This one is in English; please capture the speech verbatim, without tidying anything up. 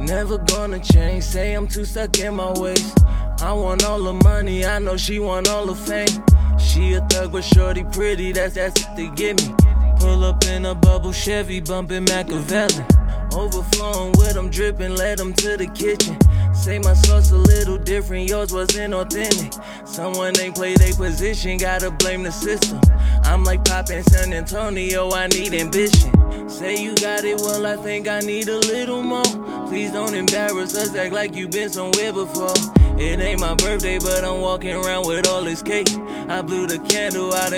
Never gonna change, say I'm too stuck in my ways. I want all the money, I know she want all the fame. She a thug but shorty pretty, that's that's what they give me. Pull up in a bubble Chevy, bumping Machiavelli. Overflowing with them, dripping, led them to the kitchen. Say my sauce a little different, yours wasn't authentic. Someone ain't play their position, gotta blame the system. I'm like Pop in San Antonio, I need ambition. Say you got it, well I think I need a little more. Please don't embarrass us, act like you been somewhere before. It ain't my birthday, but I'm walking around with all this cake. I blew the candle out.